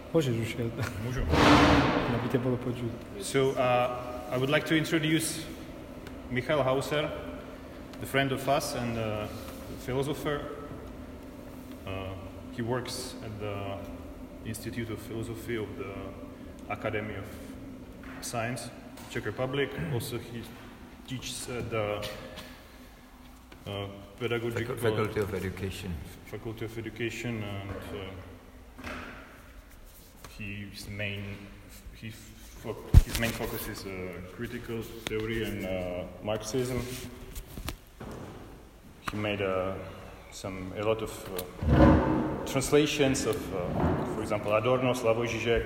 Môžeš už. Môžu. Aby ťa bolo počuť. So I would like to introduce Michael Hauser, the friend of us and philosopher. He works at the Institute of Philosophy of the Academy of Science, Czech Republic. Also, he teaches at the pedagogical Faculty of Education. Faculty of Education, and his main focus is critical theory and Marxism. He made a lot of translations of, for example, Adorno, Slavoj Žižek,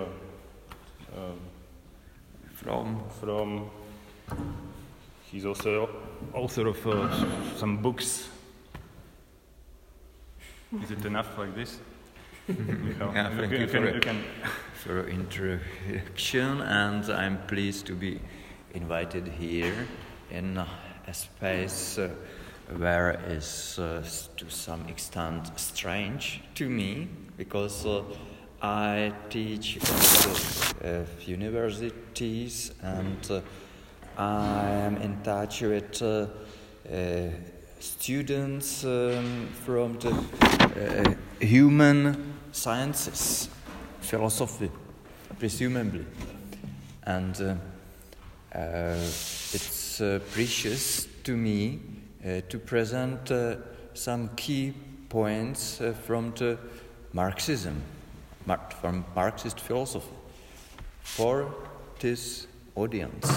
from. He's also author of some books. Is it enough like this? Yeah, thank you for introduction, and I'm pleased to be invited here in a space where is to some extent strange to me, because I teach at universities and I am in touch with students from the human sciences, philosophy, presumably. And it's precious to me to present some key points from the Marxism, from Marxist philosophy, for this audience.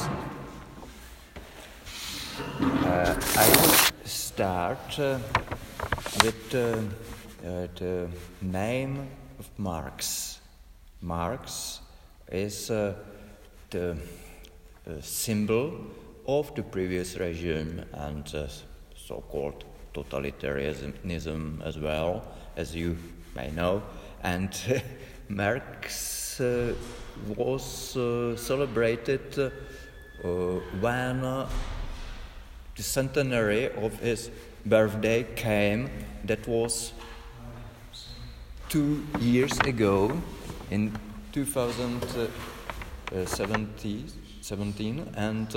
I start with the name of Marx. Marx is the symbol of the previous regime and so-called totalitarianism as well, as you may know. And Marx was celebrated when the centenary of his birthday came. That was 2 years ago, in 2017, and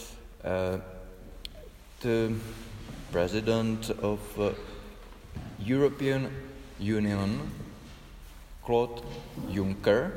the president of European Union, Claude Juncker,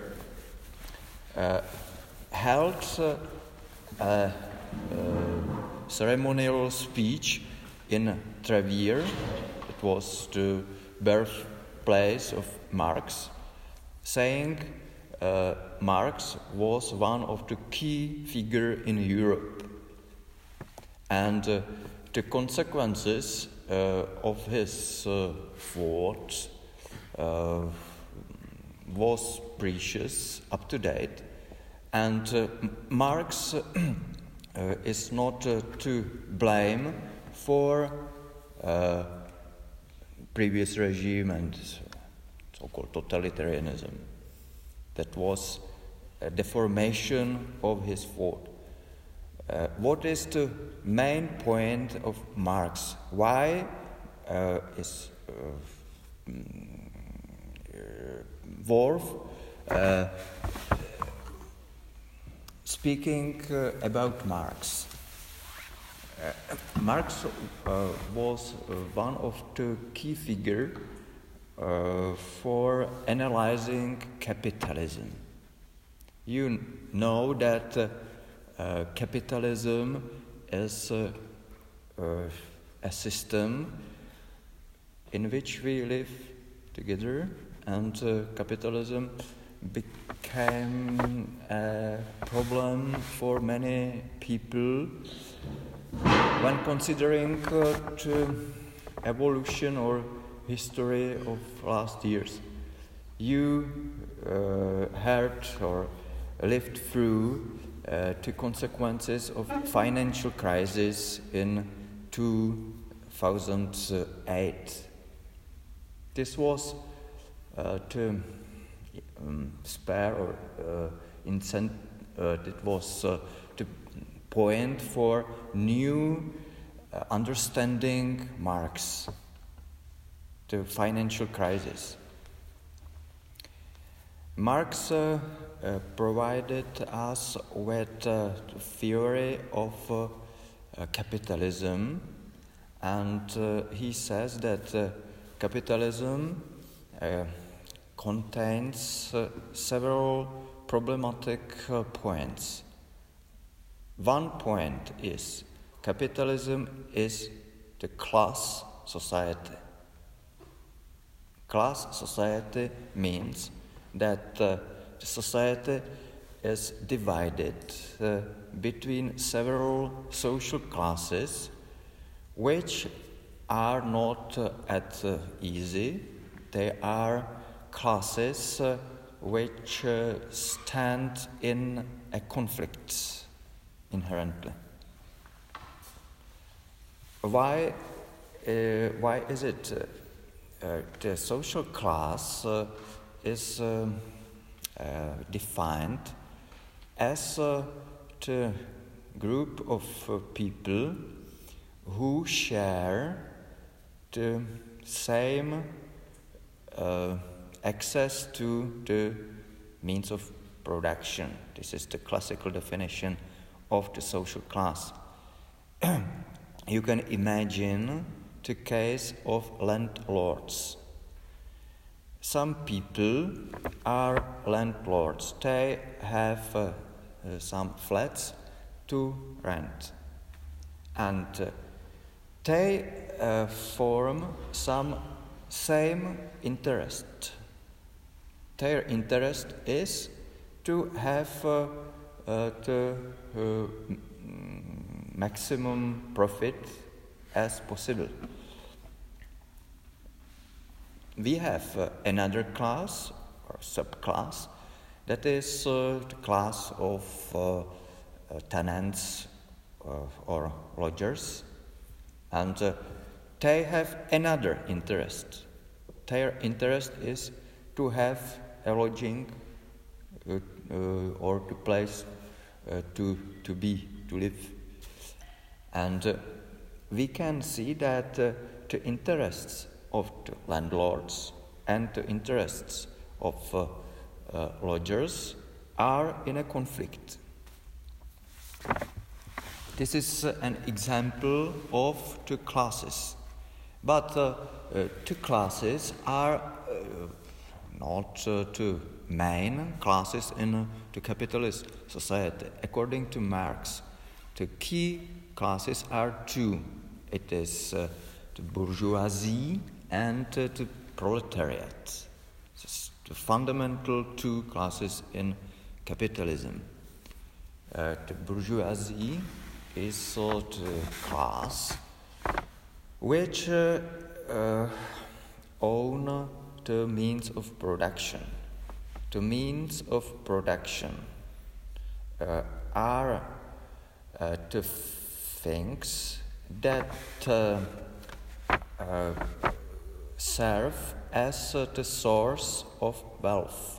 held a ceremonial speech in Trevier. It was the birthplace of Marx, saying Marx was one of the key figures in Europe, and the consequences of his thought was precious, up to date, and Marx is not to blame for previous regime and so-called totalitarianism. That was a deformation of his thought. What is the main point of Marx? Why is Wolf speaking about Marx? Marx was one of the key figures for analyzing capitalism. You know that capitalism is a system in which we live together, and capitalism became a problem for many people when considering the evolution or history of last years. You heard or lived through the consequences of financial crisis in 2008. This was to spare or it was the point for new understanding Marx, the financial crisis. Marx provided us with the theory of capitalism, and he says that capitalism contains several problematic points. One point is capitalism is the class society. Class society means that the society is divided between several social classes which are not at easy. They are classes which stand in a conflict inherently. Why is it the social class is defined as the group of people who share the same access to the means of production. This is the classical definition of the social class. You can imagine the case of landlords. Some people are landlords. They have some flats to rent. And they form some same interest. Their interest is to have the maximum profit as possible. We have another class or subclass that is the class of tenants or lodgers, and they have another interest. Their interest is to have a lodging or a place to live. And we can see that the interests of the landlords and the interests of lodgers are in a conflict. This is an example of two classes. But two classes are not two main classes in the capitalist society. According to Marx, the key classes are two. It is the bourgeoisie and the proletariat. This is the fundamental two classes in capitalism. The bourgeoisie is the class which own the means of production. The means of production are the things that serve as the source of wealth.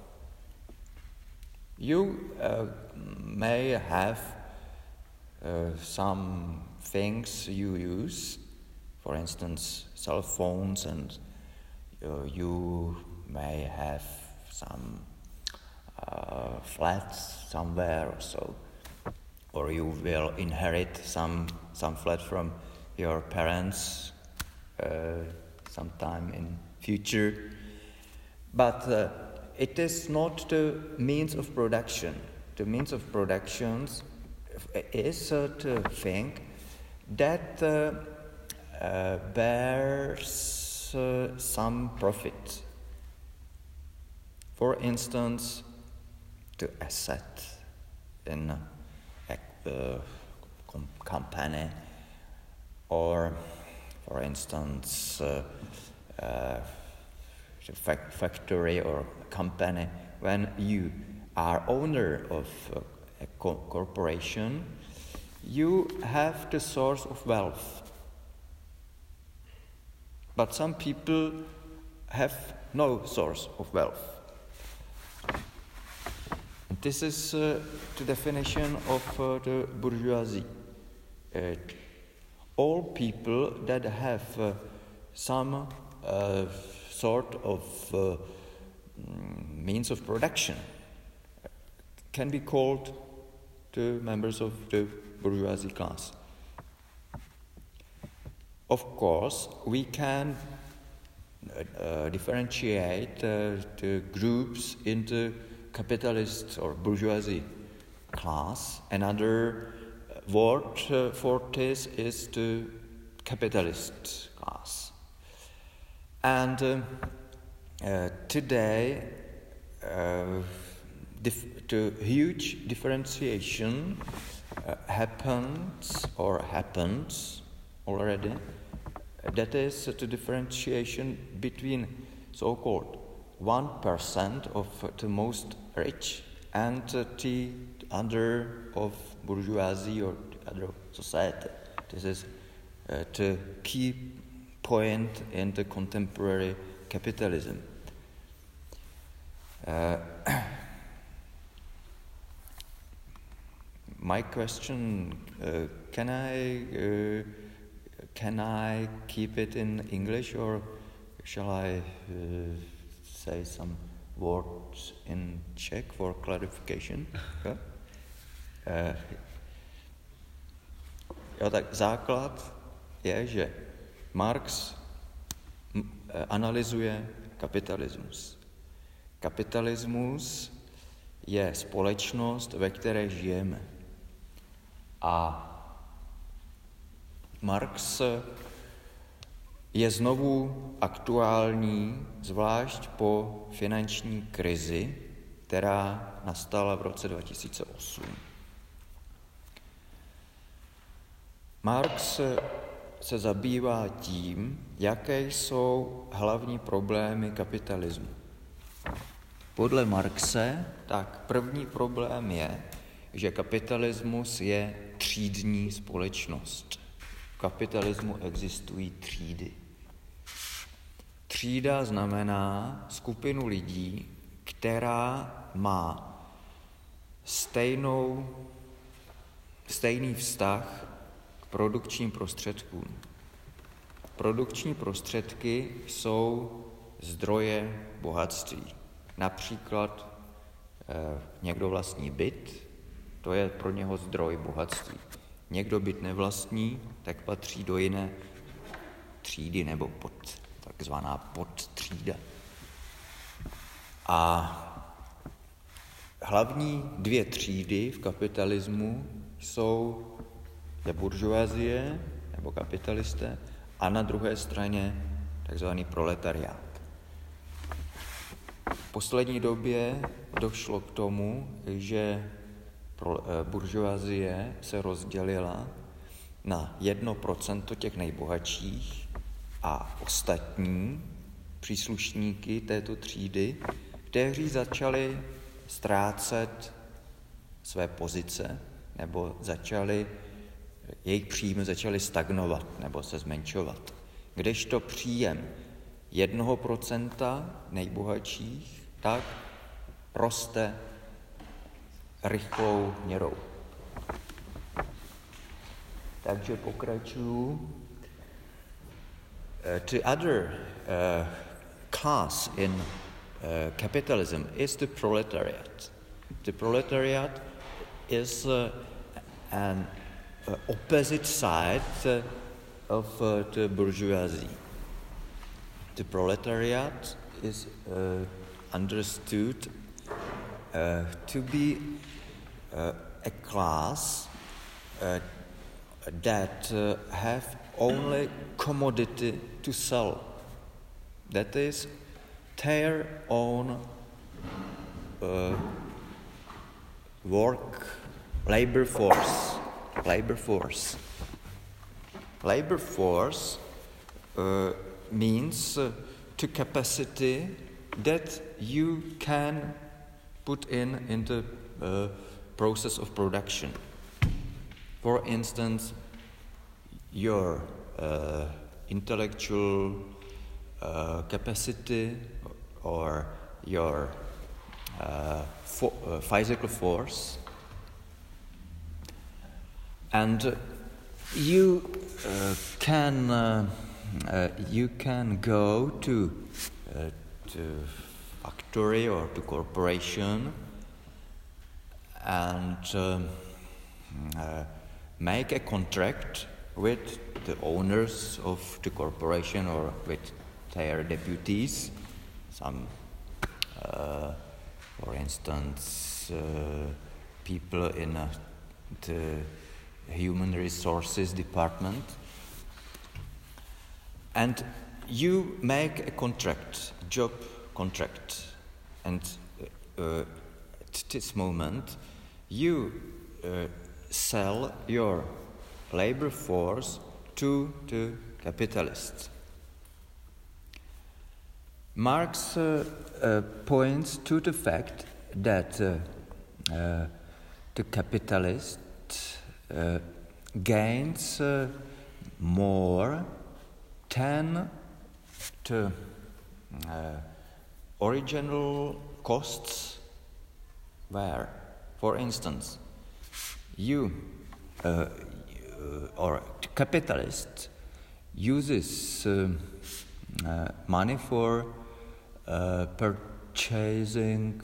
You may have some things you use, for instance, cell phones, and you may have some flats somewhere or so, or you will inherit some flat from your parents sometime in future. But it is not the means of production. The means of production is the thing that bears some profit. For instance, the asset in a company, or for instance the factory or company. When you are owner of a corporation, you have the source of wealth. But some people have no source of wealth. And this is the definition of the bourgeoisie. All people that have some sort of means of production can be called the members of the bourgeoisie class. Of course, we can differentiate the groups into capitalist or bourgeoisie class. Another word for this is the capitalist class. And today, the huge differentiation happens already. That is the differentiation between so-called 1% of the most rich and the other of bourgeoisie or the other society. This is the key point in the contemporary capitalism. My question, can I keep it in English, or shall I say some words in Czech for clarification? Tak základ je, že Marx analyzuje kapitalismus. Kapitalismus je společnost, ve které žijeme. A Marx je znovu aktuální, zvlášť po finanční krizi, která nastala v roce 2008. Marx se zabývá tím, jaké jsou hlavní problémy kapitalismu. Podle Marxe, tak první problém je, že kapitalismus je třídní společnost. V kapitalismu existují třídy. Třída znamená skupinu lidí, která má stejný vztah k produkčním prostředkům. Produkční prostředky jsou zdroje bohatství. Například někdo vlastní byt, to je pro něho zdroj bohatství. Někdo byt nevlastní, tak patří do jiné třídy nebo takzvaná podtřída. A hlavní dvě třídy v kapitalismu jsou buržoazie nebo kapitalisté a na druhé straně takzvaný proletariát. V poslední době došlo k tomu, že buržoazie se rozdělila na 1% těch nejbohatších a ostatní příslušníky této třídy, kteří začali ztrácet své pozice nebo jejich příjmy začaly stagnovat nebo se zmenšovat. Kdežto příjem 1% nejbohatších tak roste rychlou měrou. Takže pokračuju. The other class in capitalism is the proletariat. The proletariat is an opposite side of the bourgeoisie. The proletariat is understood to be a class that have only commodity to sell. That is their own labor force. Labor force means to capacity that you can put in the process of production. For instance, your intellectual capacity or your physical force, and you can go to factory or to corporation and make a contract with the owners of the corporation or with their deputies, some, for instance, people in the human resources department, and you make a contract, job contract, and at this moment you sell your labor force to the capitalists. Marx points to the fact that the capitalist gains more than the original costs were. For instance, you or the capitalist uses money for purchasing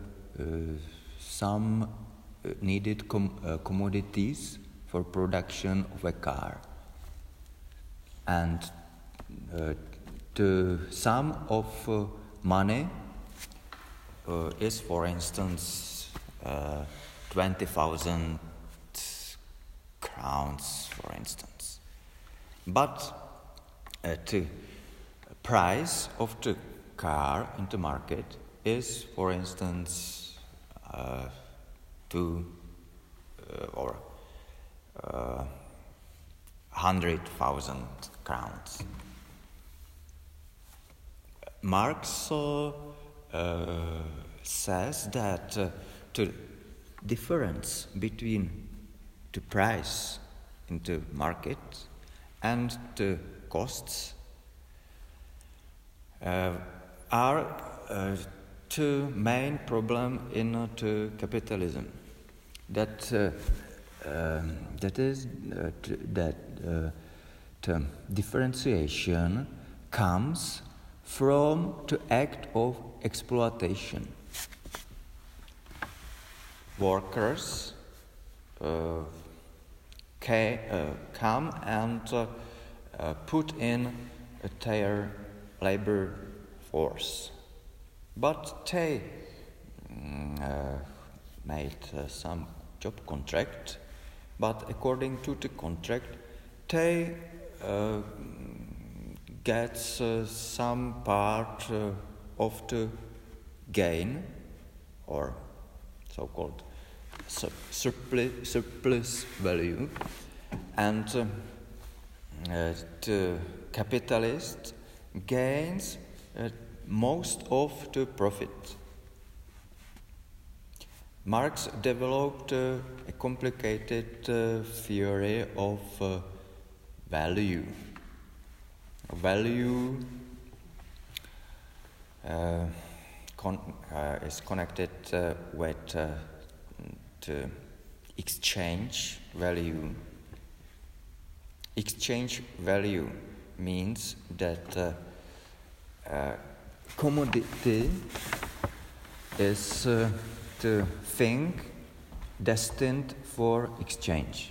some needed commodities for production of a car, and the sum of money is, for instance, 20,000 crowns, for instance. But the price of the car in the market is, for instance, 100,000 crowns. Marx says that the difference between the price in the market and the costs are the main problem in the capitalism. That is that the differentiation comes from the act of exploitation. Workers come and put in their labor force, but they made some job contract, but according to the contract they get some part of the gain, or so-called surplus value, and the capitalist gains most of the profit. Marx developed a complicated theory of value. Value is connected with the exchange value. Exchange value means that commodity is the thing destined for exchange,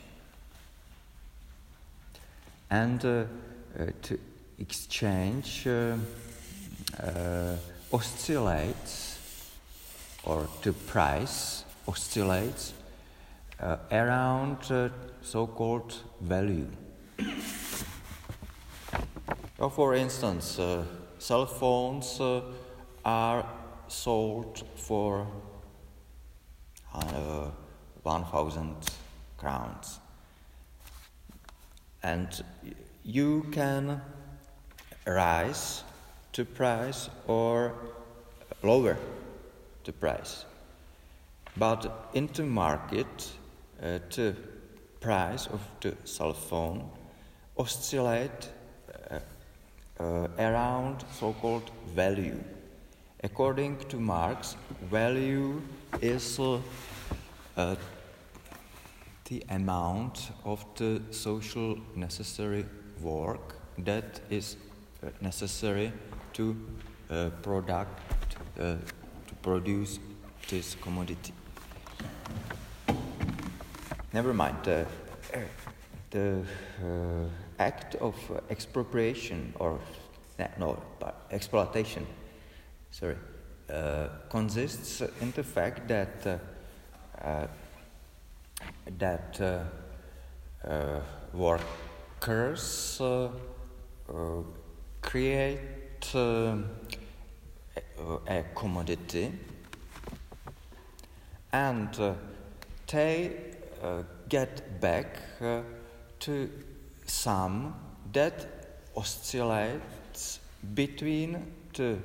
and to exchange oscillates, or the price oscillates around so-called value. For instance, cell phones are sold for 1,000 crowns, and you can rise the price or lower the price. But in the market, the price of the cell phone oscillate around so-called value. According to Marx, value is the amount of the social necessary work that is necessary to product to produce this commodity. Never mind. The act of expropriation or exploitation, consists in the fact that workers create a commodity, and they get back to sum that oscillates between the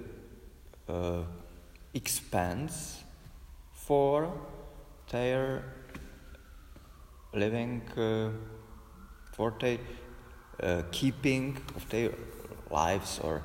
expense for their living, for the keeping of their lives, or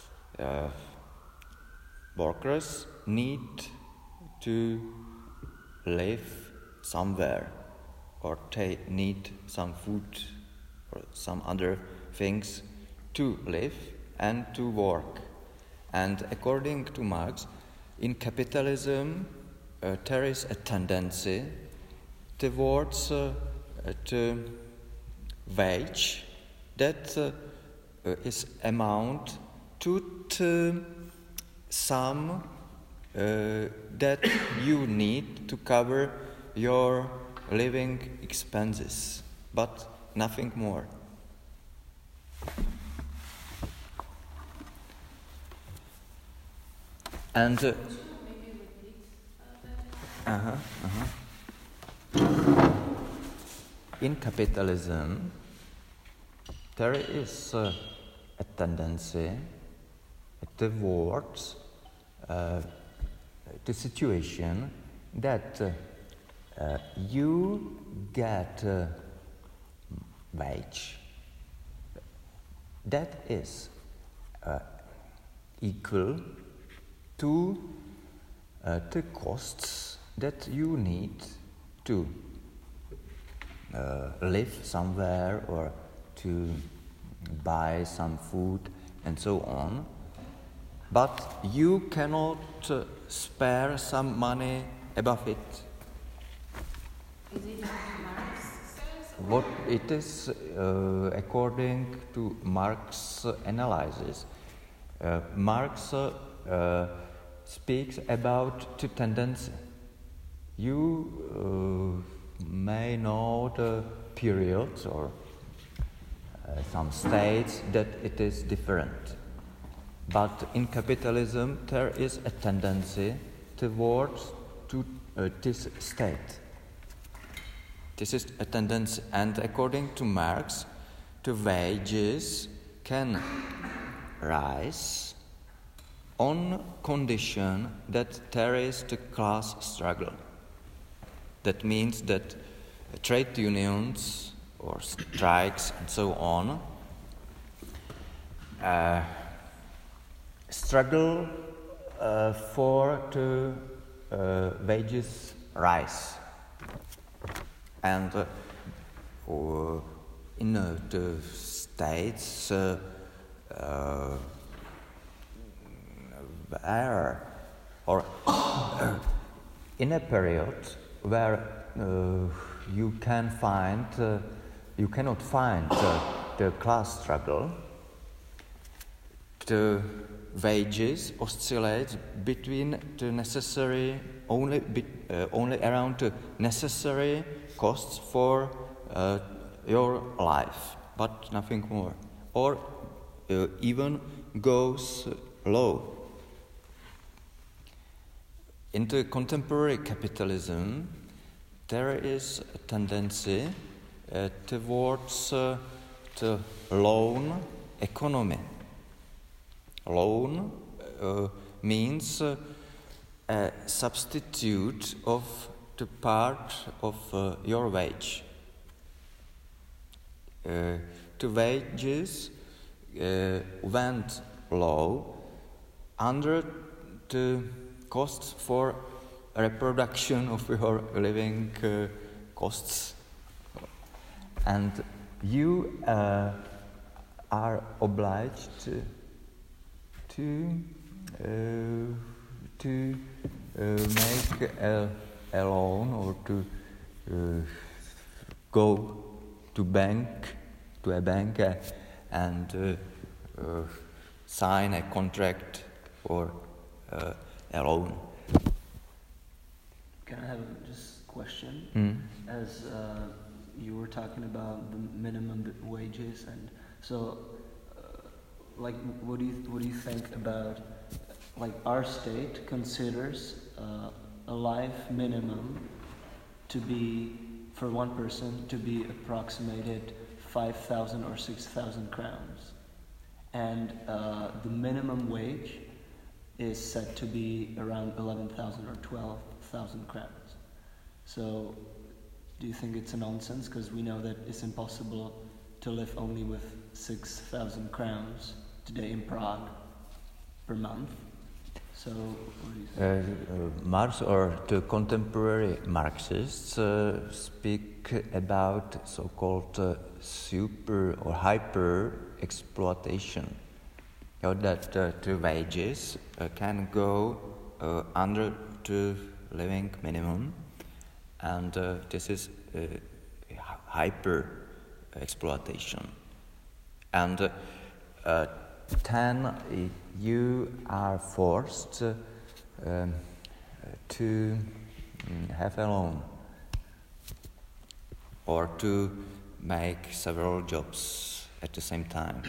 workers need to live somewhere, or they need some food or some other things to live and to work. And according to Marx, in capitalism there is a tendency towards the wage that is amount to the sum that you need to cover your living expenses, but nothing more. And in capitalism, there is a tendency towards the situation that you get wage that is equal to the costs that you need to live somewhere or to buy some food and so on, but you cannot spare some money above it. Is it what Marx says? What it is, according to Marx's analysis, Marx speaks about the tendency. You may know the periods or some states that it is different. But in capitalism, there is a tendency towards this state. This is a tendency, and according to Marx, the wages can rise on condition that there is the class struggle. That means that trade unions or strikes and so on struggle for the wages rise. And in the states where, or in a period where you cannot find the class struggle, the wages oscillate between the necessary only around the necessary costs for your life, but nothing more, or even goes low. In the contemporary capitalism, there is a tendency towards the loan economy. Loan means a substitute of the part of your wage. The wages went low under the costs for reproduction of your living costs, and you are obliged to to make a loan or to go to a bank and sign a contract for a loan. Can I have just a question? As you were talking about the minimum wages, and so, like, what do you think about, like, our state considers a life minimum to be, for one person, to be approximated 5,000 or 6,000 crowns, and the minimum wage is said to be around 11,000 or 12,000 crowns. So, do you think it's a nonsense? Because we know that it's impossible to live only with 6,000 crowns today in Prague per month. So, what do you think? Marx or the contemporary Marxists speak about so-called super or hyper exploitation. You know, that the wages can go under the living minimum, and this is hyper exploitation. And then you are forced to have a loan or to make several jobs at the same time.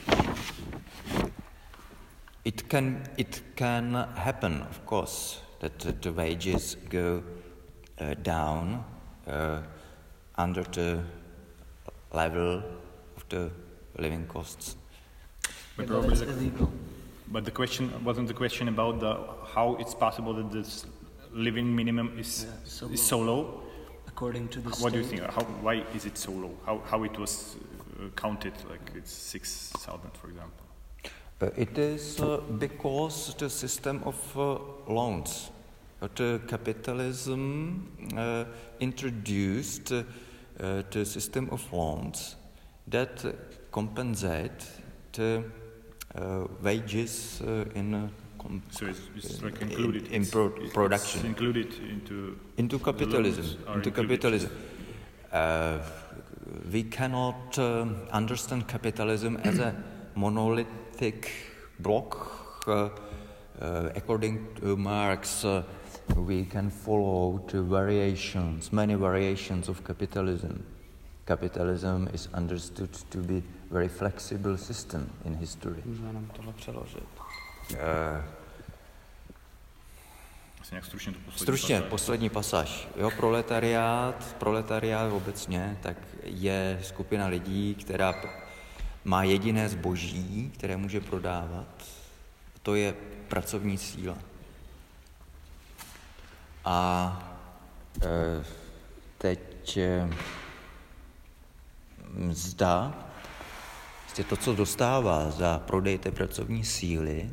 It can happen, of course, that the wages go down under the level of the living costs. But it's illegal. But the question wasn't the question about how it's possible that this living minimum is so low. According to the state. What do you think? Why is it so low? How it was counted? Like it's 6,000, for example. It is because the system of loans, the capitalism introduced the system of loans that compensate the wages in so it's like included in production. It's included into capitalism. Into capitalism. We cannot understand capitalism as a monolithic block. According to Marx, we can follow the many variations of capitalism. Capitalism is understood to be a very flexible system in history. Stručně, poslední pasáž. Jo, proletariát obecně, tak je skupina lidí, která má jediné zboží, které může prodávat. To je pracovní síla. A teď mzda, to, co dostává za prodej té pracovní síly,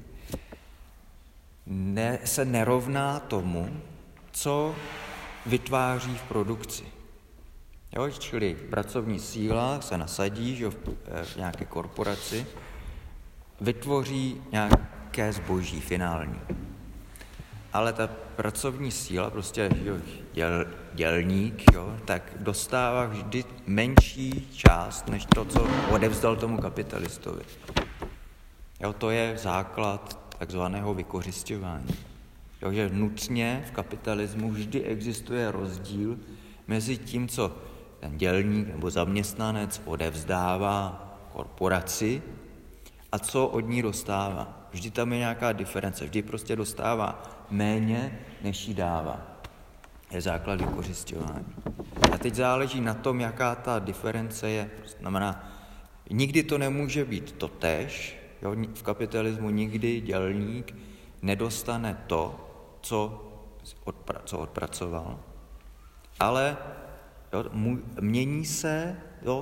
se nerovná tomu, co vytváří v produkci. Jo, čili pracovní síla se nasadí, že v nějaké korporaci, vytvoří nějaké zboží finální. Ale ta pracovní síla, prostě dělník, tak dostává vždy menší část, než to, co odevzdal tomu kapitalistovi. Jo, to je základ takzvaného vykořisťování. Jo, že nutně v kapitalismu vždy existuje rozdíl mezi tím, co ten dělník nebo zaměstnanec odevzdává korporaci a co od ní dostává. Vždy tam je nějaká diference, vždy prostě dostává méně, než jí dává. Je základ vykořisťování. A teď záleží na tom, jaká ta diference je. Znamená, nikdy to nemůže být totéž. Jo? V kapitalismu nikdy dělník nedostane to, co odpracoval. Ale mění se,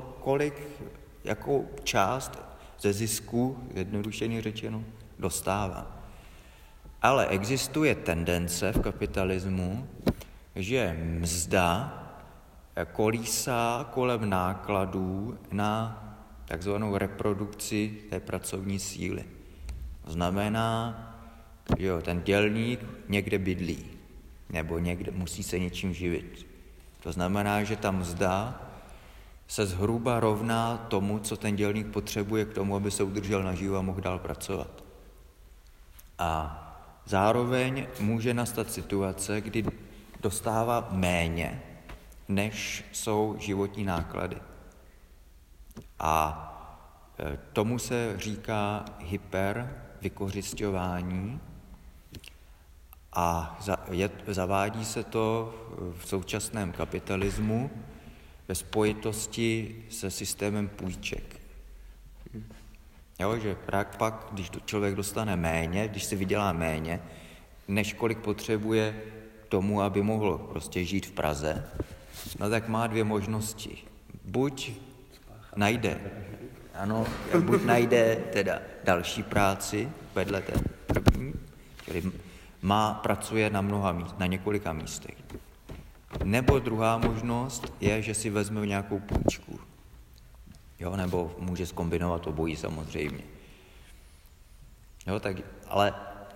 jakou část ze zisku, jednodušeně řečeno, dostává. Ale existuje tendence v kapitalismu, že mzda kolísá kolem nákladů na takzvanou reprodukci té pracovní síly. Znamená, Jo, ten dělník někde bydlí, nebo někde musí se něčím živit. To znamená, že ta mzda se zhruba rovná tomu, co ten dělník potřebuje k tomu, aby se udržel naživu a mohl dál pracovat. A zároveň může nastat situace, kdy dostává méně, než jsou životní náklady. A tomu se říká hypervykořisťování a zavádí se to v současném kapitalismu ve spojitosti se systémem půjček. Jo, že pak, když člověk dostane méně, když si vydělá méně, než kolik potřebuje tomu, aby mohl prostě žít v Praze, no tak má dvě možnosti. Buď najde teda další práci vedle té první, čili pracuje na několika místech. Nebo druhá možnost je, že si vezme nějakou půjčku. Jo, nebo může zkombinovat obojí samozřejmě. Jo, tak, ale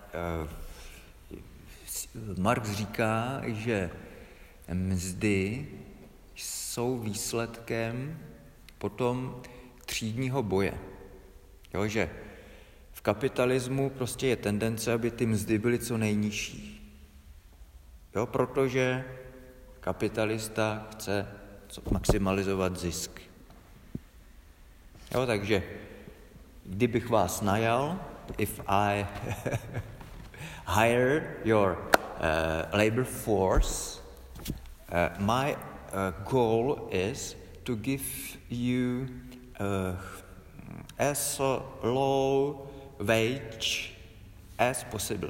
Marx říká, že mzdy jsou výsledkem potom třídního boje. Jo, že v kapitalismu prostě je tendence, aby ty mzdy byly co nejnižší. Jo, protože kapitalista chce maximalizovat zisk. Jo, takže kdybych vás najal, if I hire your labor force, my goal is to give you as low wage as possible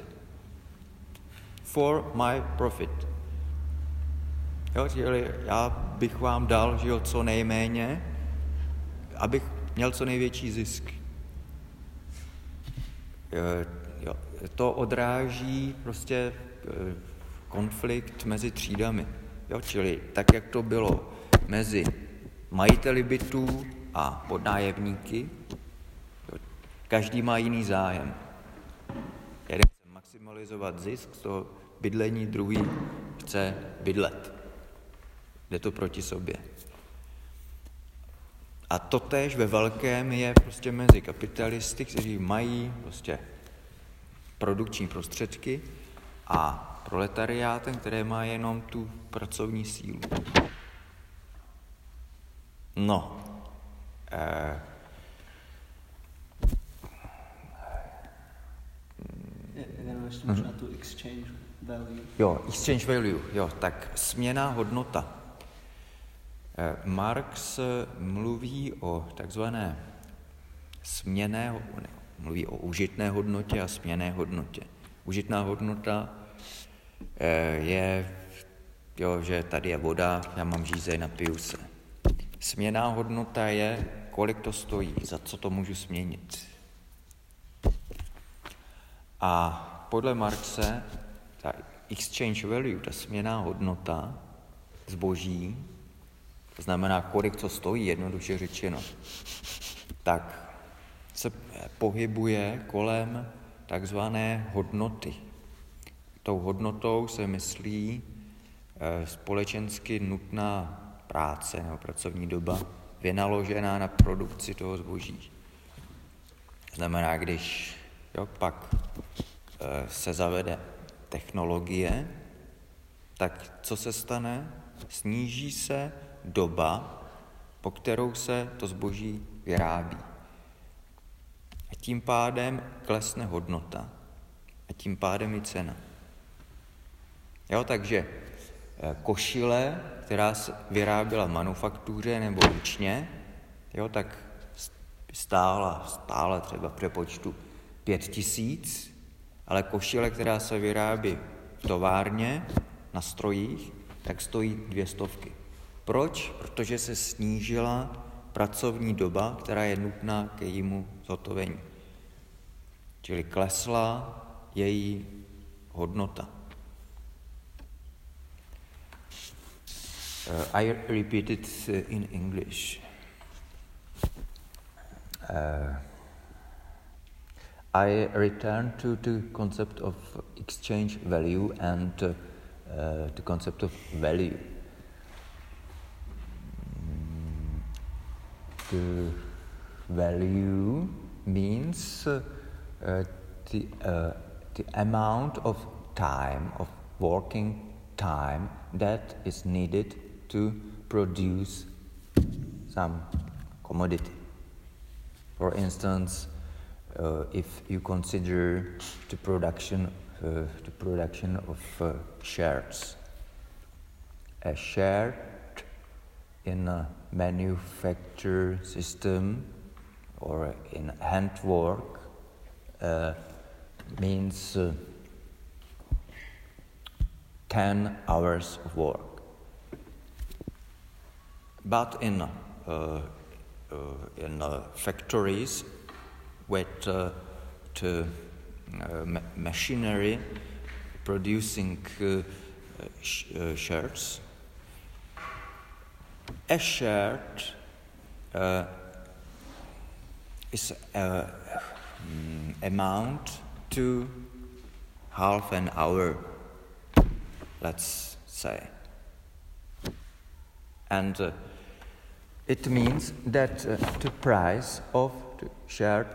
for my profit. Jo, já bych vám dal, že jo, co nejméně, abych měl co největší zisk. Jo, to odráží prostě konflikt mezi třídami. Jo, čili tak, jak to bylo mezi majiteli bytů a podnájemníky, jo, každý má jiný zájem. Jeden chce maximalizovat zisk z toho bydlení, druhý chce bydlet. Jde to proti sobě. A totéž ve velkém je prostě mezi kapitalisty, kteří mají prostě produkční prostředky, a proletariátem, které má jenom tu pracovní sílu. No. Možná tu exchange value. Jo, exchange value, jo, tak směnná hodnota. Marx mluví o takzvané mluví o užitné hodnotě a směnné hodnotě. Užitná hodnota je, jo, že tady je voda, já mám žízeň, napiju se. Směnná hodnota je, kolik to stojí, za co to můžu směnit. A podle Marxe ta exchange value, ta směnná hodnota zboží, to znamená, kolik to stojí, jednoduše řečeno, tak se pohybuje kolem takzvané hodnoty. Tou hodnotou se myslí společensky nutná práce nebo pracovní doba vynaložená na produkci toho zboží. Znamená, když pak se zavede technologie, tak co se stane? Sníží se doba, po kterou se to zboží vyrábí. A tím pádem klesne hodnota. A tím pádem i cena. Jo, takže košile, která se vyráběla v manufaktuře nebo ručně, jo, tak stála třeba v přepočtu 5 000, ale košile, která se vyrábí v továrně, na strojích, tak stojí 200. Proč? Protože se snížila pracovní doba, která je nutná k jejímu zhotovení. Čili klesla její hodnota. I repeat it in English. I return to the concept of exchange value and the concept of value. The value means the amount of time, of working time that is needed to produce some commodity. For instance, if you consider the production of shirts, a shirt in a manufacture system or in handwork means 10 hours of work. But in factories with machinery producing shirts, a shirt is amount to half an hour, let's say. And it means that the price of the shirt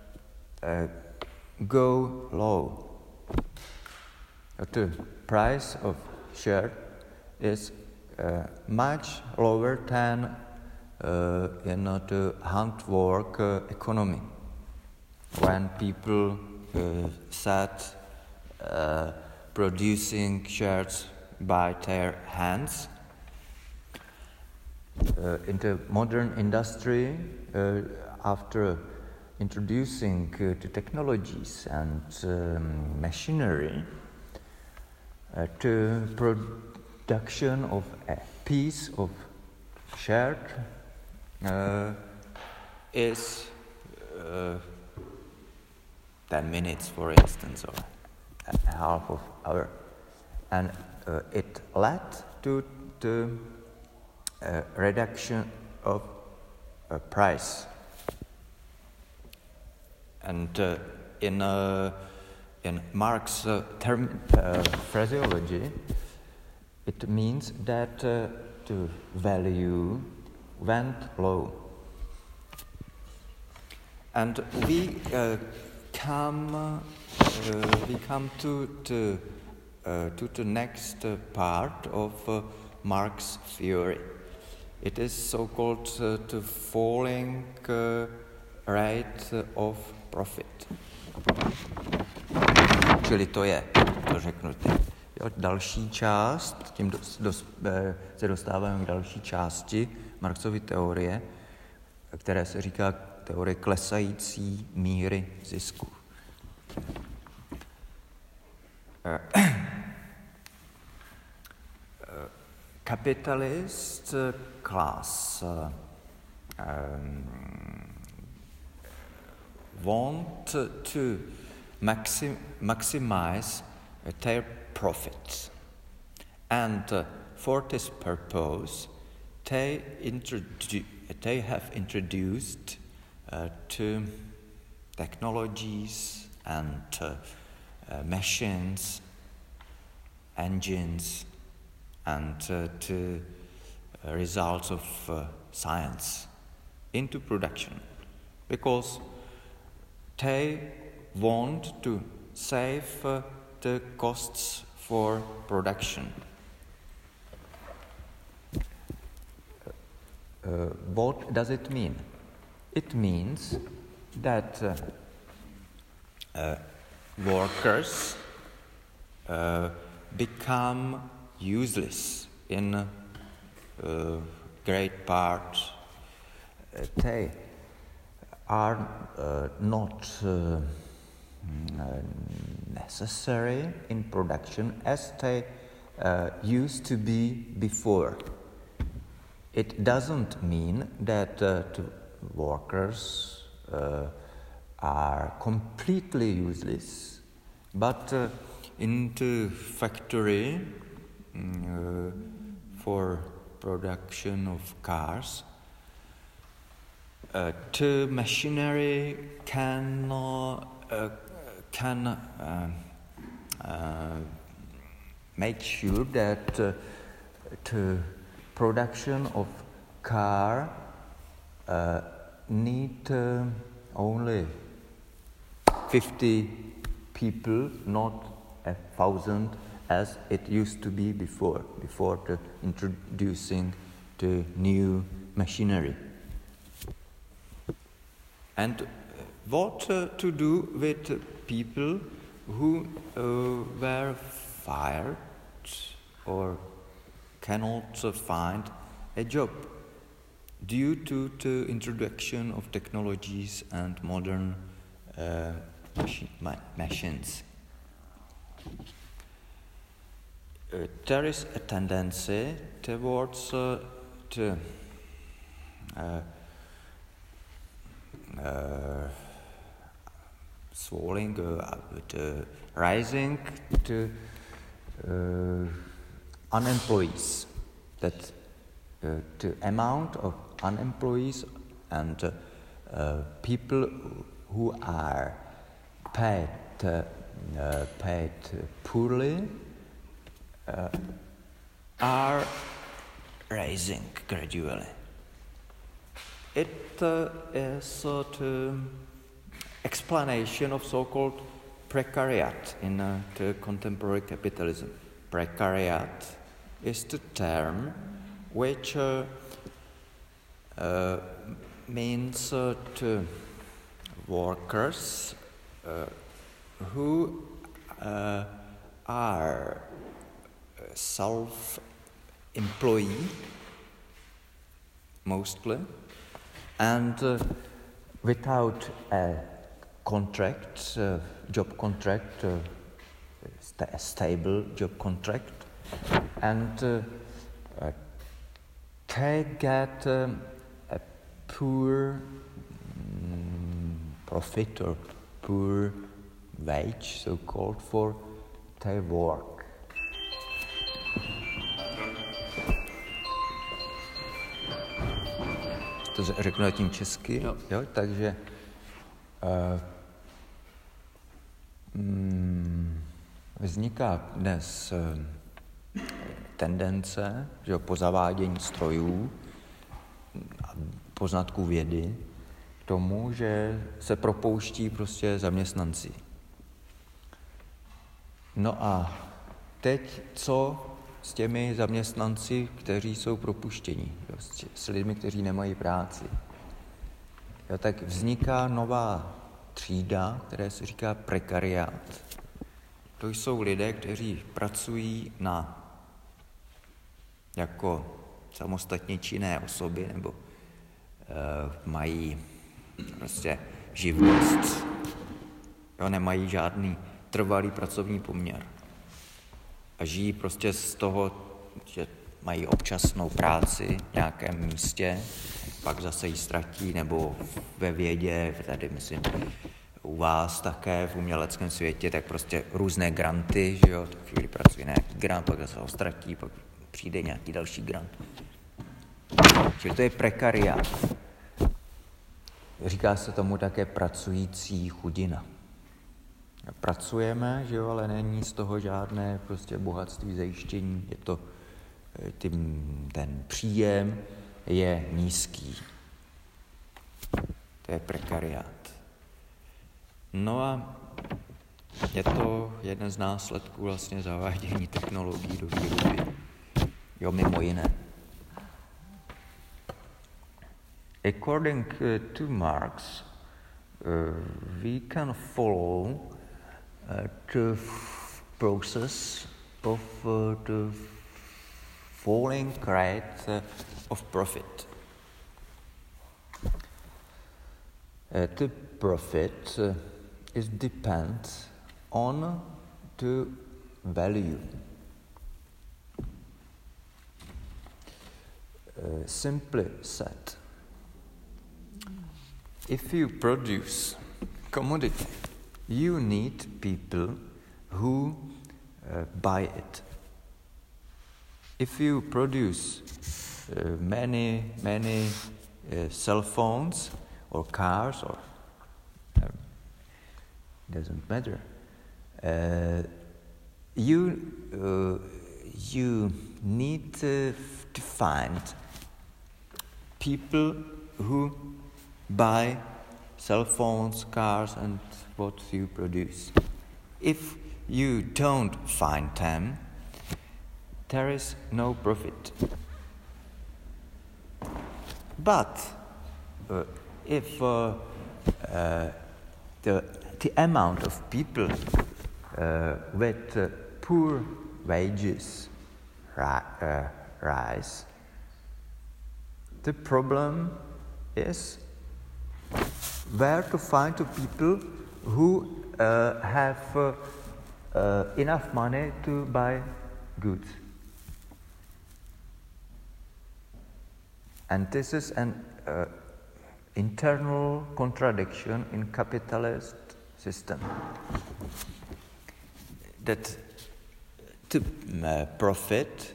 go low. The price of shirt is much lower than in the handwork economy, when people sat producing shirts by their hands. In the modern industry, after introducing the technologies and machinery, the production of a piece of shirt is 10 minutes, for instance, or a half of hour, and it led to the reduction of price. And in Marx' phraseology, it means that the value went low. And we come to the next part of Marx's theory. It is so-called the falling rate of profit. Čili to je, to řeknu teď. Další část, tím se dostáváme k další části Marxovy teorie, které se říká teorie klesající míry zisku. Capitalist class want to maximize their profits, and for this purpose they have introduced to technologies and machines, engines, and to results of science into production, because they want to save the costs for production. What does it mean? It means that workers become useless in great part. They are not necessary in production as they used to be before. It doesn't mean that the workers are completely useless, but in the factory for production of cars, the machinery cannot can make sure that the production of car need only 50 people, not 1,000 as it used to be before the introducing the new machinery. And what to do with people who were fired or cannot find a job due to the introduction of technologies and modern machines. There is a tendency towards the rising to unemployees, that the amount of unemployees and people who are paid poorly are rising gradually. It is the explanation of so-called precariat in the contemporary capitalism. Precariat is the term which means to workers who are self-employed mostly and without a contract, job contract, a stable job contract, and they get a poor profit or poor wage, so-called, for their work. To řeknu tím česky, jo, takže vzniká dnes tendence, že po zavádění strojů a poznatků vědy k tomu, že se propouští prostě zaměstnanci. No a teď co s těmi zaměstnanci, kteří jsou propuštěni, s lidmi, kteří nemají práci? Jo, tak vzniká nová třída, která se říká prekariát. To jsou lidé, kteří pracují jako samostatně činné osoby nebo mají prostě živnost. Jo, nemají žádný trvalý pracovní poměr. A žijí prostě z toho, že mají občasnou práci v nějakém místě, pak zase ji ztratí, nebo ve vědě, tady myslím u vás také v uměleckém světě, tak prostě různé granty, že jo, tak chvíli pracuje nějaký grant, pak zase ho ztratí, pak přijde nějaký další grant. Čili to je prekariát. Říká se tomu také pracující chudina. Pracujeme, že jo, ale není z toho žádné prostě bohatství, zajištění, je to, ten příjem je nízký. To je prekariát. No a je to jeden z následků vlastně zavádění technologií do výroby. Jo, mimo jiné. According to Marx, we can follow the process of the falling rate of profit. The profit is depends on the value. Simply said, if you produce commodity, you need people who buy it. If you produce many cell phones or cars, or doesn't matter. You need to find people who buy cell phones, cars, and what you produce. If you don't find them, there is no profit. But if the amount of people with poor wages rise, the problem is where to find the people who have enough money to buy goods. And this is an internal contradiction in capitalist system. That to profit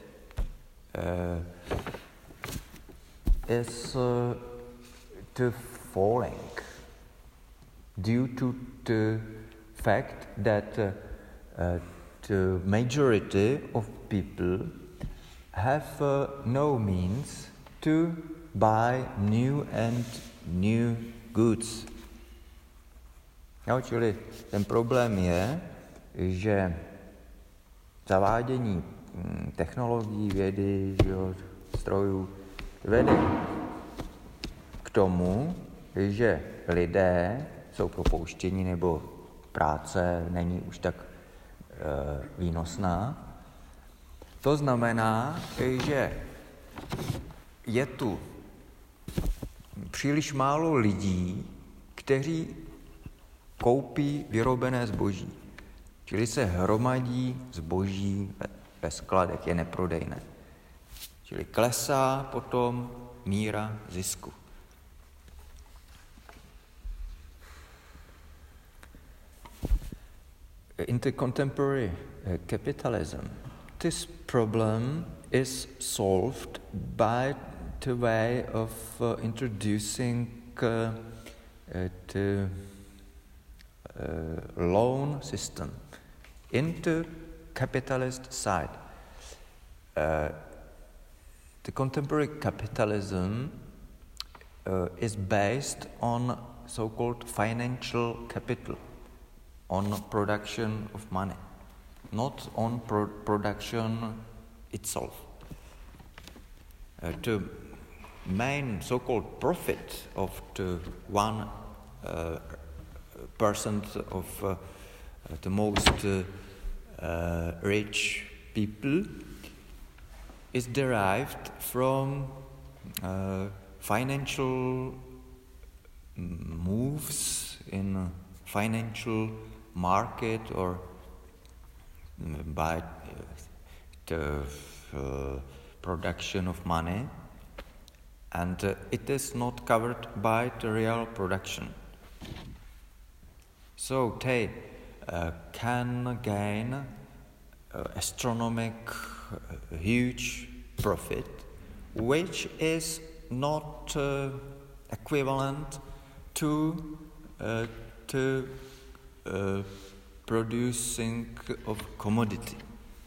is to falling due to the fact that the majority of people have no means to buy new and new goods. No, čili ten problém je, že zavádění technologií, vědy, strojů vede k tomu, že lidé jsou propouštěni nebo práce není už tak výnosná. To znamená, že je tu příliš málo lidí, kteří koupí vyrobené zboží. Čili se hromadí zboží ve skladech, je neprodejné. Čili klesá potom míra zisku. In the contemporary capitalism, this problem is solved by the way of introducing the loan system into capitalist side. The contemporary capitalism is based on so-called financial capital, on production of money, not on production itself. The main so-called profit of the 1% of the most rich people is derived from financial moves in financial market or by the production of money, and it is not covered by the real production. So they can gain astronomic huge profit, which is not equivalent to producing of commodity.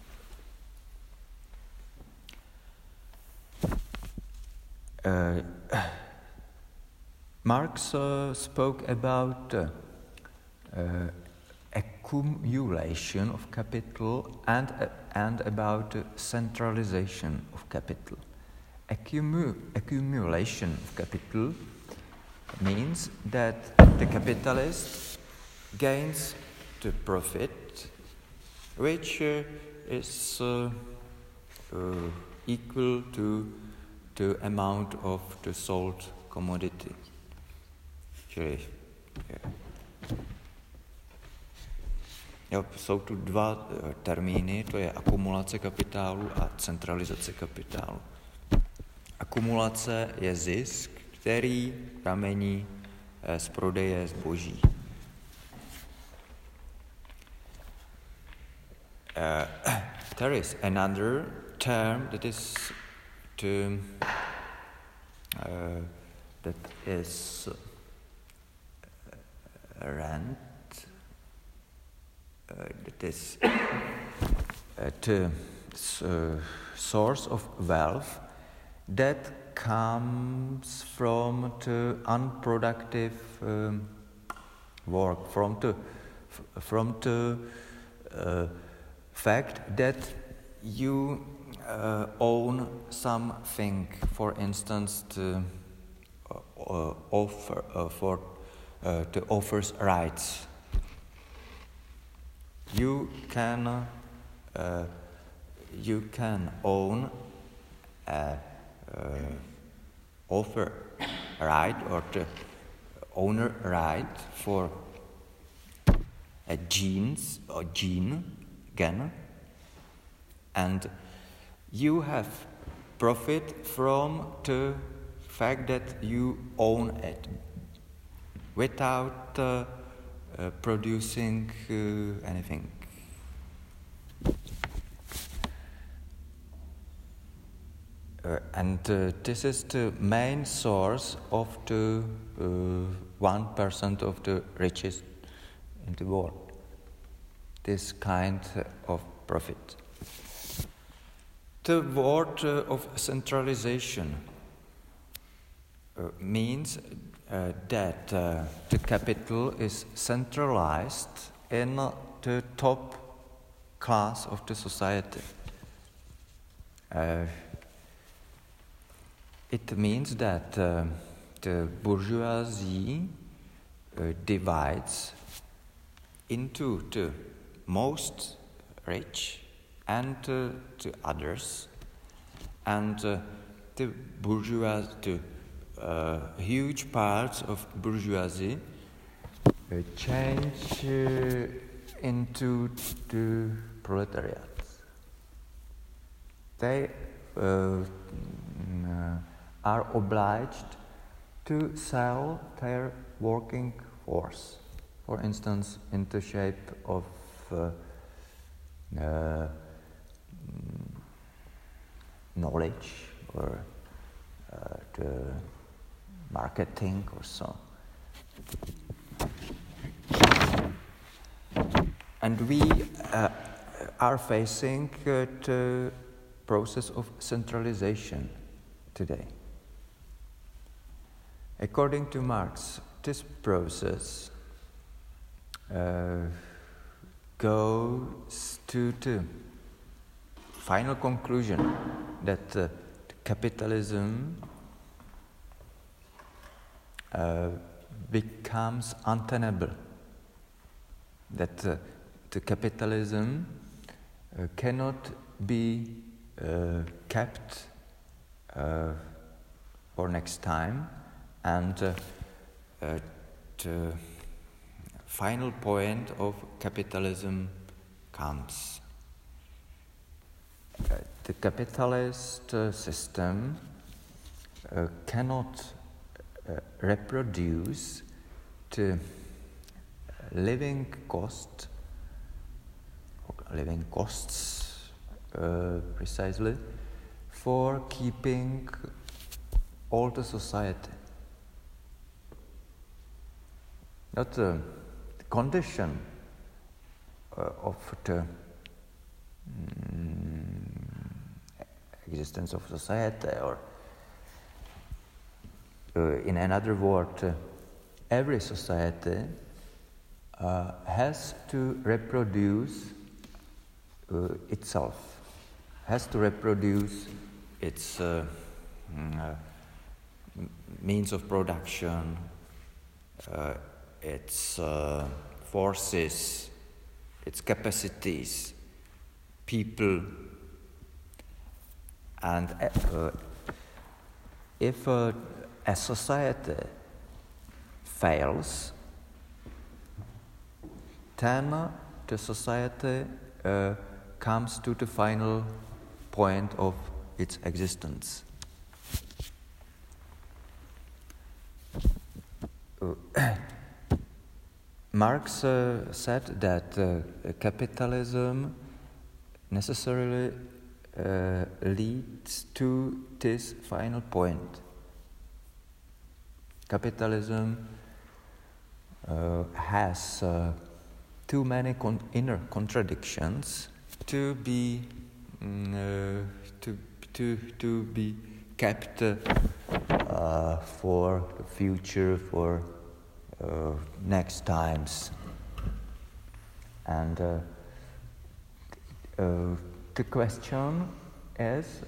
Marx spoke about accumulation of capital and about centralization of capital. Accumulation of capital means that the capitalist gains the profit, which is equal to the amount of the sold commodity. Jsou tu dva termíny, to je akumulace kapitálu a centralizace kapitálu. Akumulace je zisk, který pramení z prodeje zboží. There is another term that is rent, that is the source of wealth that comes from the unproductive work, from the fact that you own something, for instance, the offers rights. You can own a offer right or the owner right for a gene, and you have profit from the fact that you own it without producing anything. And this is the main source of the 1% of the richest in the world. This kind of profit. The word of centralization means that the capital is centralized in the top class of the society. It means that the bourgeoisie divides into the most rich and the others, and the bourgeoisie, huge parts of bourgeoisie change into the proletariat. They are obliged to sell their working force, for instance, in the shape of knowledge or the marketing or so. And we are facing the process of centralization today. According to Marx, this process goes to the final conclusion that capitalism becomes untenable, that the capitalism cannot be kept for next time, and the final point of capitalism comes. The capitalist system cannot reproduce the living costs precisely for keeping all the society. Not the condition of the existence of society, or in another word, every society has to reproduce itself, has to reproduce its means of production, its forces, its capacities, people, and if a society fails, then the society comes to the final point of its existence. Marx said that capitalism necessarily leads to this final point. Capitalism has too many inner contradictions to be to be kept for the future, for next times. And the question is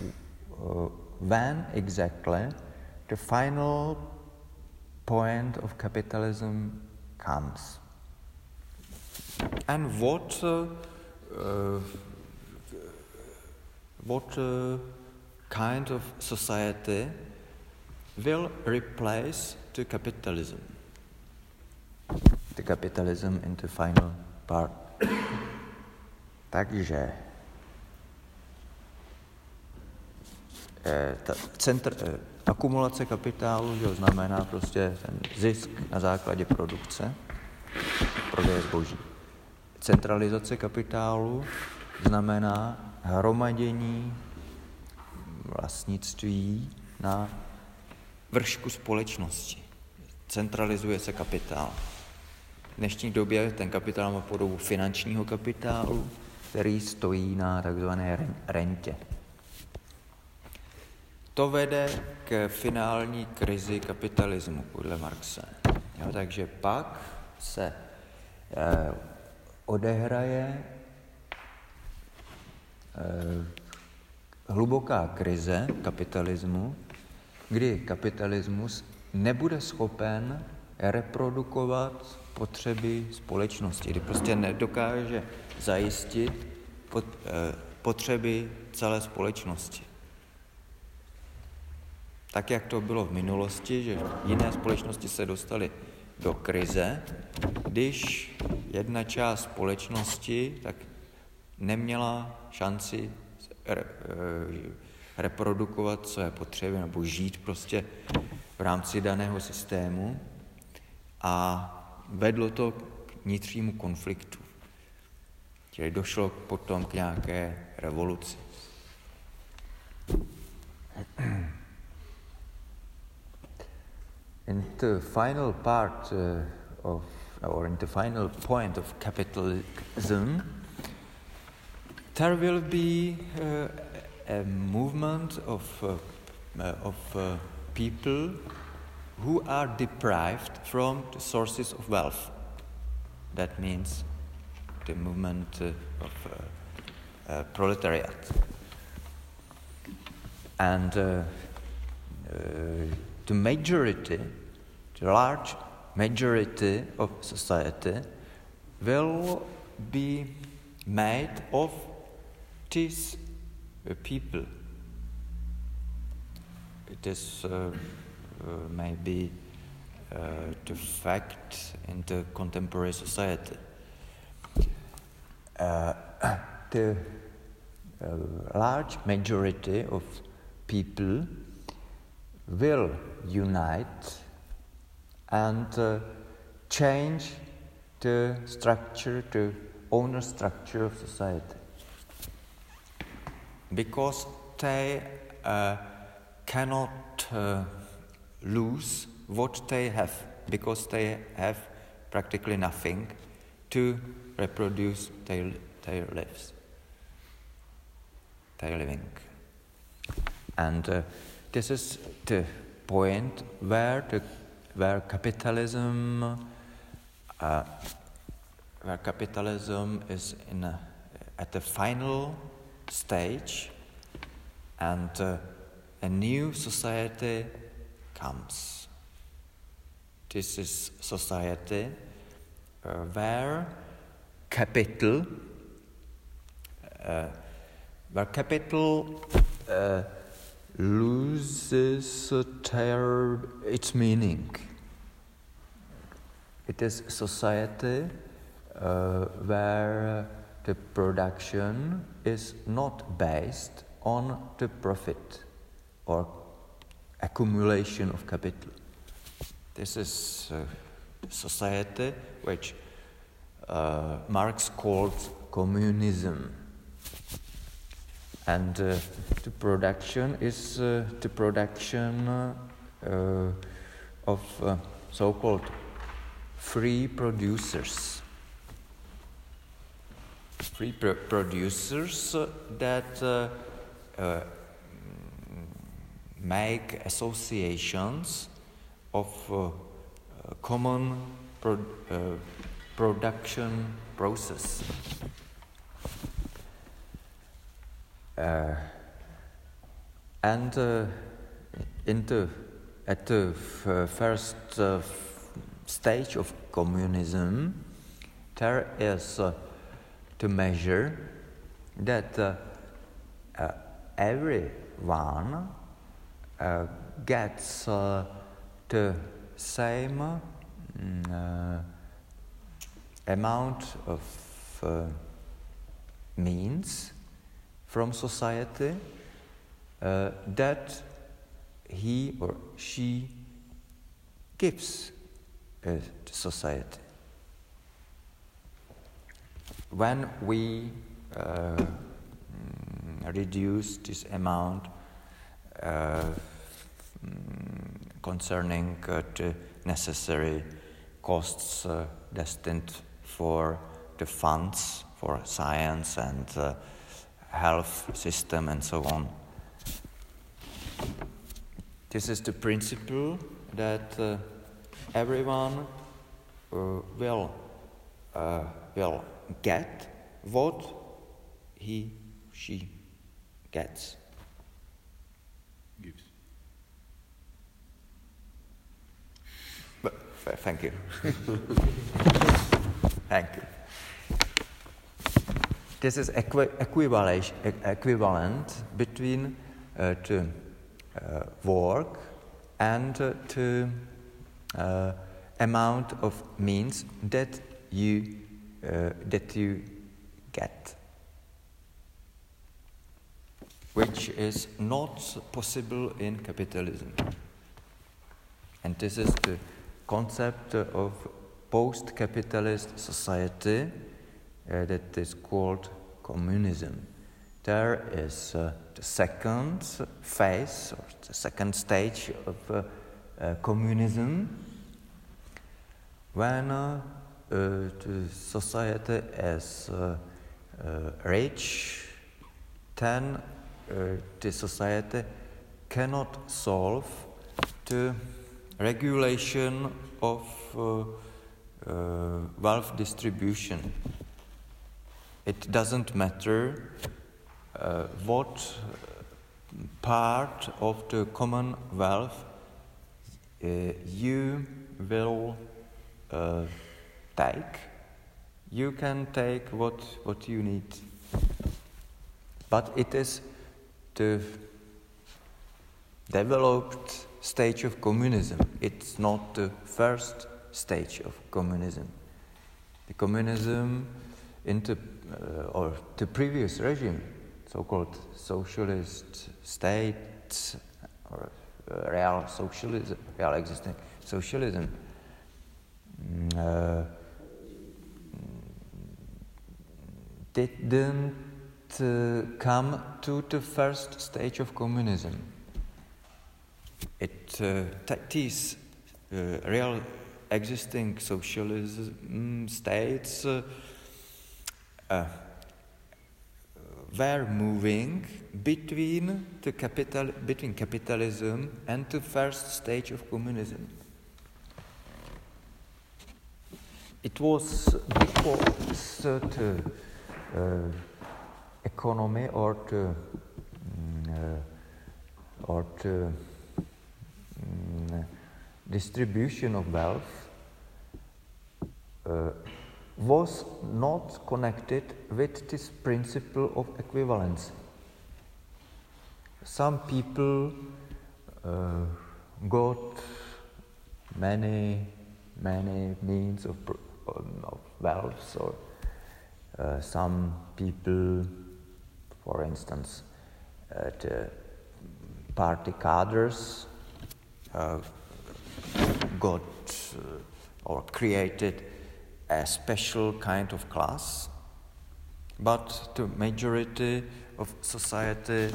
when exactly the final point of capitalism comes, and what kind of society will replace the capitalism in the final part. Takže akumulace kapitálu, že znamená prostě ten zisk na základě produkce, prodeje zboží. Centralizace kapitálu znamená hromadění vlastnictví na vršku společnosti. Centralizuje se kapitál. V dnešní době ten kapitál má podobu finančního kapitálu, který stojí na takzvané rentě. To vede k finální krizi kapitalismu, podle Marxe. Jo, takže pak se odehraje hluboká krize kapitalismu, kdy kapitalismus nebude schopen reprodukovat potřeby společnosti, kdy prostě nedokáže zajistit potřeby celé společnosti. Tak, jak to bylo v minulosti, že jiné společnosti se dostaly do krize, když jedna část společnosti tak neměla šanci reprodukovat své potřeby nebo žít prostě v rámci daného systému a vedlo to k vnitřnímu konfliktu. Čili došlo potom k nějaké revoluci. In the final part in the final point of capitalism, there will be a movement of people who are deprived from the sources of wealth. That means the movement of proletariat. And the large majority of society will be made of these people. It is maybe the fact in the contemporary society. The large majority of people will unite and change the structure, the owner structure of society. Because they cannot lose what they have, because they have practically nothing to reproduce their living. And this is the point where capitalism is at the final stage, and a new society comes. This is society where capital loses its meaning. It is society where the production is not based on the profit or accumulation of capital. This is society which Marx called communism. And the production is the production of so-called free producers. free producers that make associations of common production process. And at the first stage of communism, there is to measure that everyone gets the same amount of means from society that he or she gives to society. When we reduce this amount concerning the necessary costs destined for the funds for science and health system and so on. This is the principle that everyone will get what she gets. Gives. But, thank you. Thank you. This is equivalent between the work and the amount of means that you get, which is not possible in capitalism. And this is the concept of post-capitalist society that is called communism. There is the second phase, or the second stage of communism, when the society is rich, then the society cannot solve the regulation of wealth distribution. It doesn't matter what part of the common wealth you will take. You can take what you need. But it is the developed stage of communism. It's not the first stage of communism. The communism in the previous regime, so-called socialist state or real socialism, real existing socialism, didn't come to the first stage of communism. These real existing socialism states were moving between capitalism and the first stage of communism. It was because the economy or the distribution of wealth was not connected with this principle of equivalence. Some people got many means of wealth, or some people, for instance, the party cadres got or created a special kind of class, but the majority of society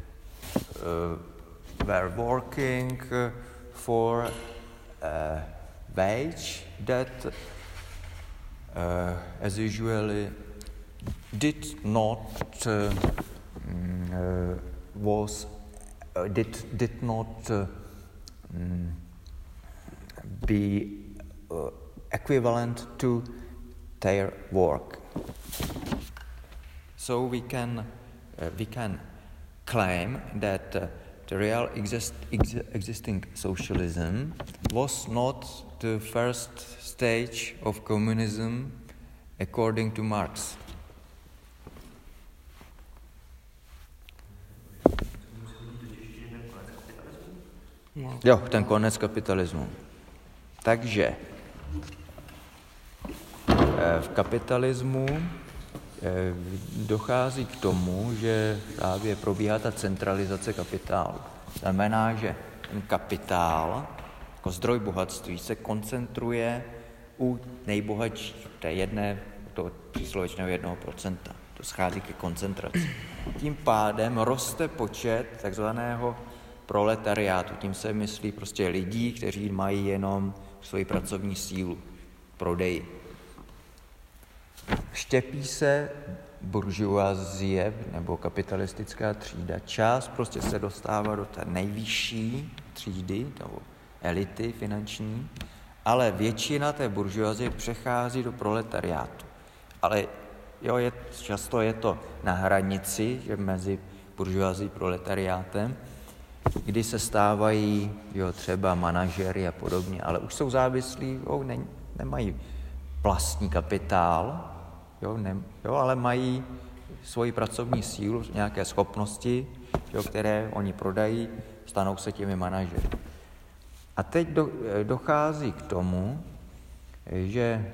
were working for a wage that as usually did not be equivalent to their work. So we can claim that the real existing socialism was not the first stage of communism according to Marx. Jo, ten konec kapitalismu. Takže v kapitalismu dochází k tomu, že právě probíhá ta centralizace kapitálu. Znamená, že ten kapitál jako zdroj bohatství se koncentruje u nejbohatších, toho příslovečného 1%. To schází ke koncentraci. Tím pádem roste počet takzvaného proletariátu. Tím se myslí prostě lidí, kteří mají jenom svoji pracovní sílu, prodej. Štěpí se buržuazie nebo kapitalistická třída. Část prostě se dostává do té nejvyšší třídy nebo elity finanční, ale většina té buržuazie přechází do proletariátu. Ale často je to na hranici mezi buržuazí a proletariátem, kdy se stávají třeba manažery a podobně, ale už jsou závislí, nemají vlastní kapitál, ale mají svoji pracovní sílu, nějaké schopnosti, které oni prodají, stanou se těmi manažery. A teď dochází k tomu, že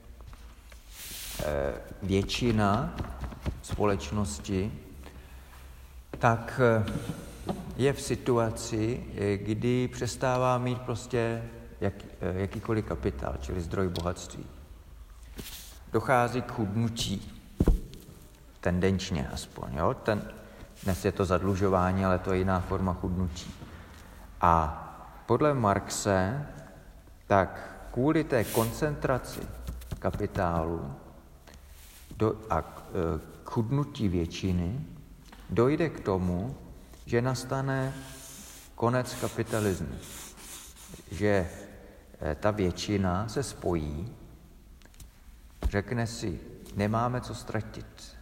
většina společnosti tak je v situaci, kdy přestává mít prostě jakýkoliv kapitál, čili zdroj bohatství. Dochází k chudnutí, tendenčně aspoň. Dnes je to zadlužování, ale to je jiná forma chudnutí. A podle Marxe, tak kvůli té koncentraci kapitálu a k chudnutí většiny dojde k tomu, že nastane konec kapitalismu. Že ta většina se spojí, řekne si, nemáme co ztratit.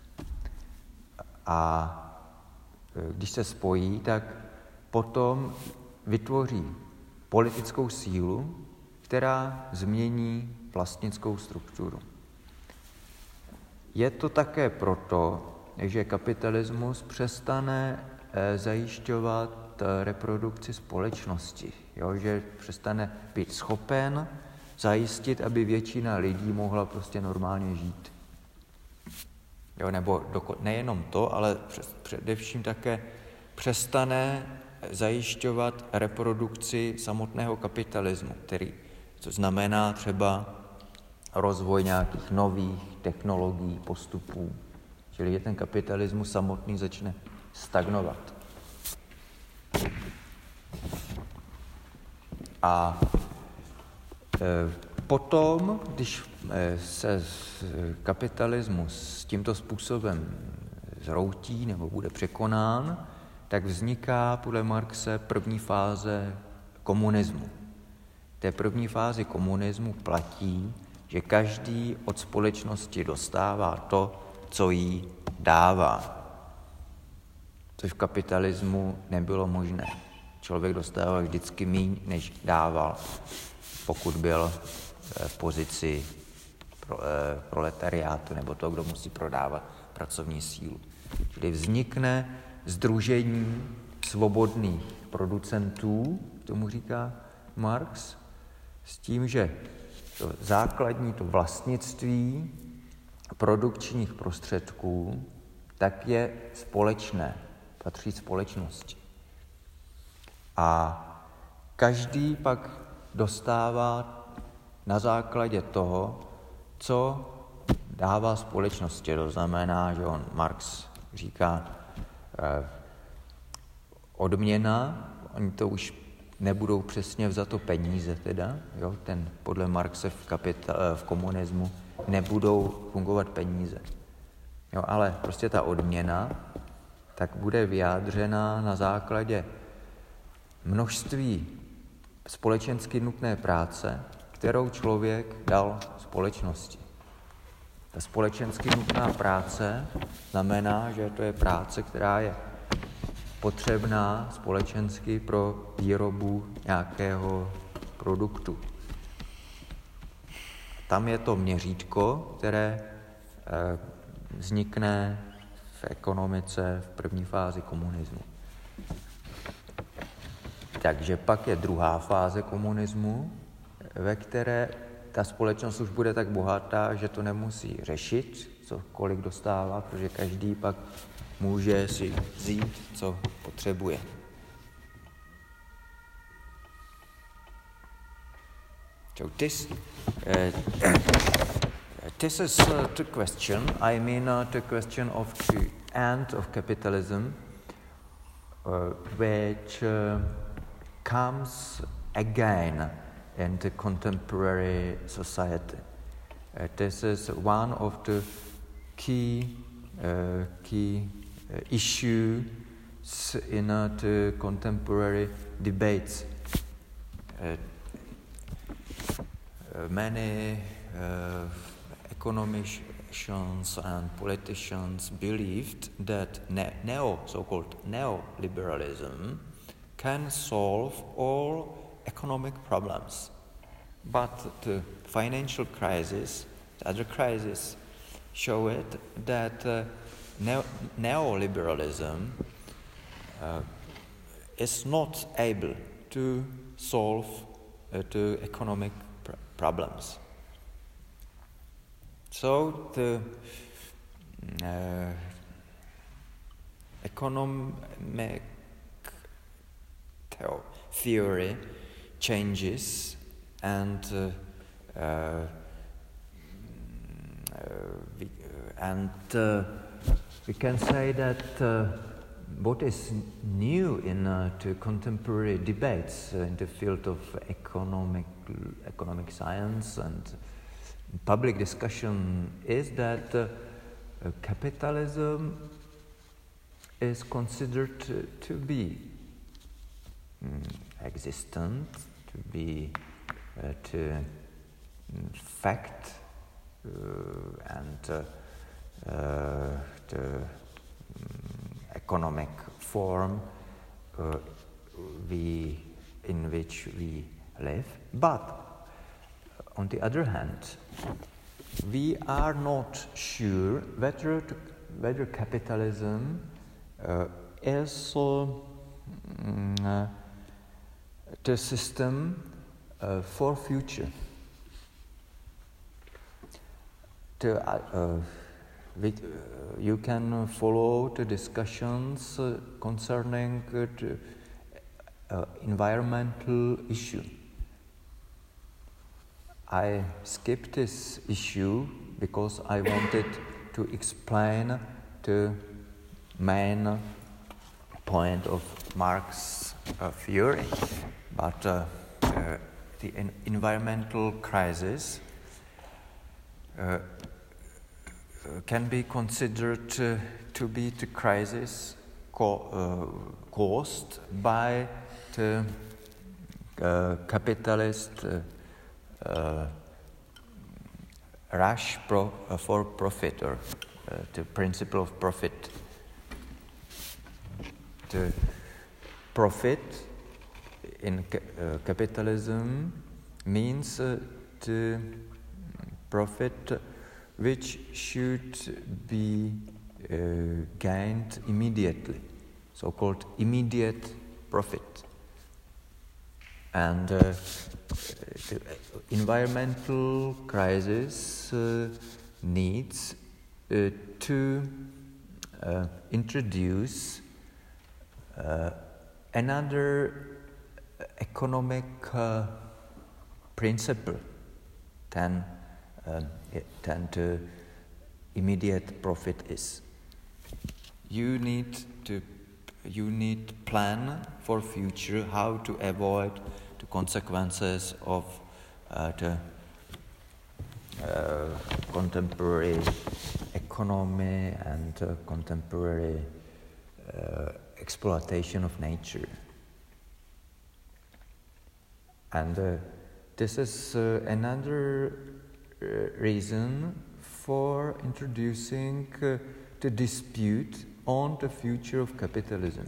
A když se spojí, tak potom vytvoří politickou sílu, která změní vlastnickou strukturu. Je to také proto, že kapitalismus přestane zajišťovat reprodukci společnosti, že přestane být schopen zajistit, aby většina lidí mohla prostě normálně žít. Nebo nejenom to, ale především také přestane zajišťovat reprodukci samotného kapitalismu, co znamená třeba rozvoj nějakých nových technologií, postupů, čili že ten kapitalismus samotný začne stagnovat. A potom, když se kapitalismus tímto způsobem zroutí nebo bude překonán, tak vzniká podle Marxe první fáze komunismu. V té první fázi komunismu platí, že každý od společnosti dostává to, co jí dává. Což v kapitalismu nebylo možné. Člověk dostával vždycky míň, než dával, pokud byl v pozici proletariátu nebo toho, kdo musí prodávat pracovní sílu. Čili vznikne sdružení svobodných producentů, tomu říká Marx, s tím, že to základní, to vlastnictví produkčních prostředků, tak je společné, patří společnosti. A každý pak dostává na základě toho, co dává společnosti. To znamená, že Marx říká odměna, oni to už nebudou přesně vzato peníze teda, podle Marxe v komunismu nebudou fungovat peníze. Jo, ale prostě ta odměna tak bude vyjádřena na základě množství společensky nutné práce, kterou člověk dal společnosti. Ta společensky nutná práce znamená, že to je práce, která je potřebná společensky pro výrobu nějakého produktu. Tam je to měřítko, které vznikne v ekonomice v první fázi komunismu. Takže pak je druhá fáze komunismu, ve které ta společnost už bude tak bohatá, že to nemusí řešit, kolik dostává, protože každý pak může si vzít, co potřebuje. So this is the question. I mean the question of the end of capitalism, which comes again in the contemporary society. This is one of the key issues in the contemporary debates. Many economicians and politicians believed that so-called neoliberalism can solve all economic problems. But the financial crisis, the other crisis, show it that neoliberalism is not able to solve the economic problems. So the economic theory changes, and we can say that what is new in the contemporary debates in the field of economic science and public discussion is that capitalism is considered to be existent, to be fact, and the economic form in which we live. But on the other hand, we are not sure whether capitalism is the system for future. You can follow the discussions concerning the environmental issue. I skipped this issue because I wanted to explain the main point of Marx's theory. But the environmental crisis can be considered to be the crisis caused by the capitalist rush for profit, or the principle of profit. The profit in capitalism means the profit which should be gained immediately, so-called immediate profit. And the environmental crisis needs to introduce another economic principle than the immediate profit is. You need plan for future how to avoid the consequences of the contemporary economy and contemporary exploitation of nature. And this is another reason for introducing the dispute on the future of capitalism.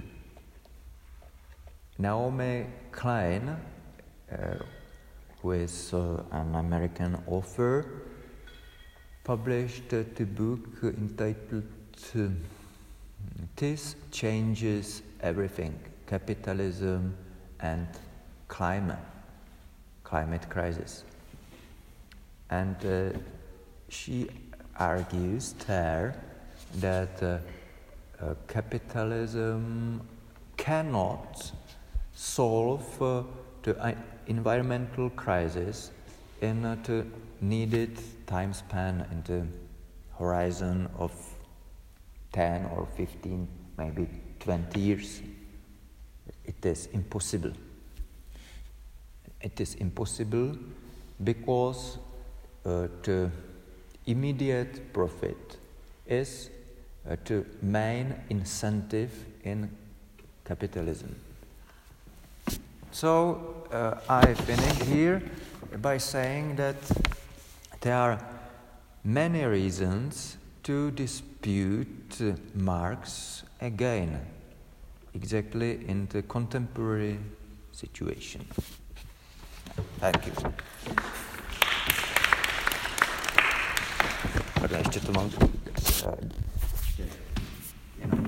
Naomi Klein, who is an American author, published the book entitled This Changes Everything, Capitalism and Climate Crisis. And she argues there that capitalism cannot solve the environmental crisis in the needed time span in the horizon of 10 or 15, maybe 20 years. It is impossible. It is impossible because the immediate profit is the main incentive in capitalism. So I finish here by saying that there are many reasons to dispute Marx again, exactly in the contemporary situation. Thank you. Pardon, ještě to mám